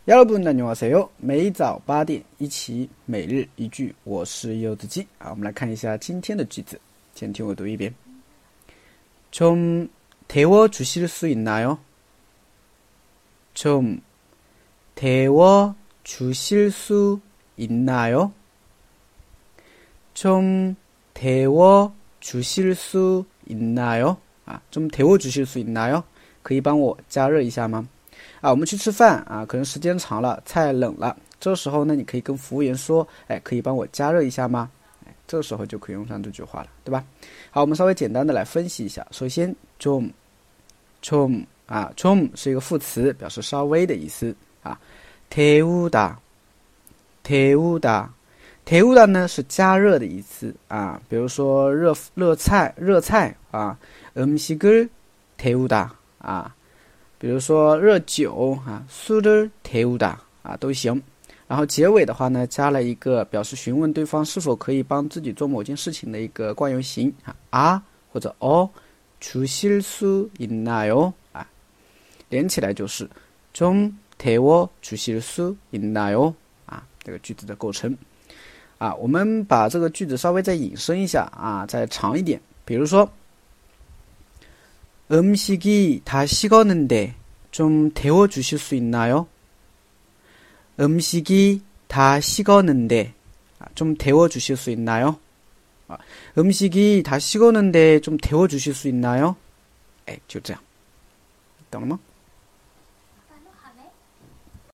여러분 안녕하세요. 每早8点一起每日一句我是柚子鸡我们来看一下今天的句子先听我读一遍 좀 데워주실 수 있나요? 좀 데워주실 수 있나요? 좀 데워주실 수 있나요? 좀 데워주실 수 있나요? 可以帮我加热一下吗？我们去吃饭可能时间长了，菜冷了，这时候呢，你可以跟服务员说，可以帮我加热一下吗？这时候就可以用上这句话了，对吧？好，我们稍微简单的来分析一下。首先 좀是一个副词，表示稍微的意思데우다呢是加热的意思比如说热菜음식을 데우다比如说热酒술을 데우다都行。然后结尾的话呢，加了一个表示询问对方是否可以帮自己做某件事情的一个惯用型或者주실 수 있나요连起来就是좀 데워주실 수 있나요这个句子的构成我们把这个句子稍微再引申一下再长一点。比如说음식이 다 식었는데 좀 데워주실 수 있나요? 음식이 다 식었는데 좀 데워주실 수 있나요? 음식이 다 식었는데 좀 데워주실 수 있나요? 就这样，懂了吗？